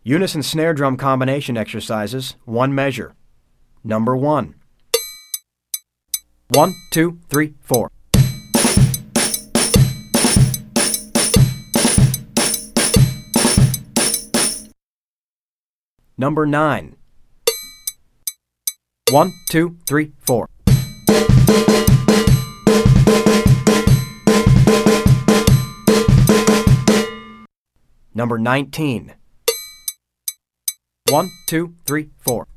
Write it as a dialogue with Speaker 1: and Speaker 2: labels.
Speaker 1: Unison snare drum combination exercises, one measure. Number 1. 1, 2, 3, 4. Number 9. 1, 2, 3, 4. Number 19. 1, 2, 3, 4.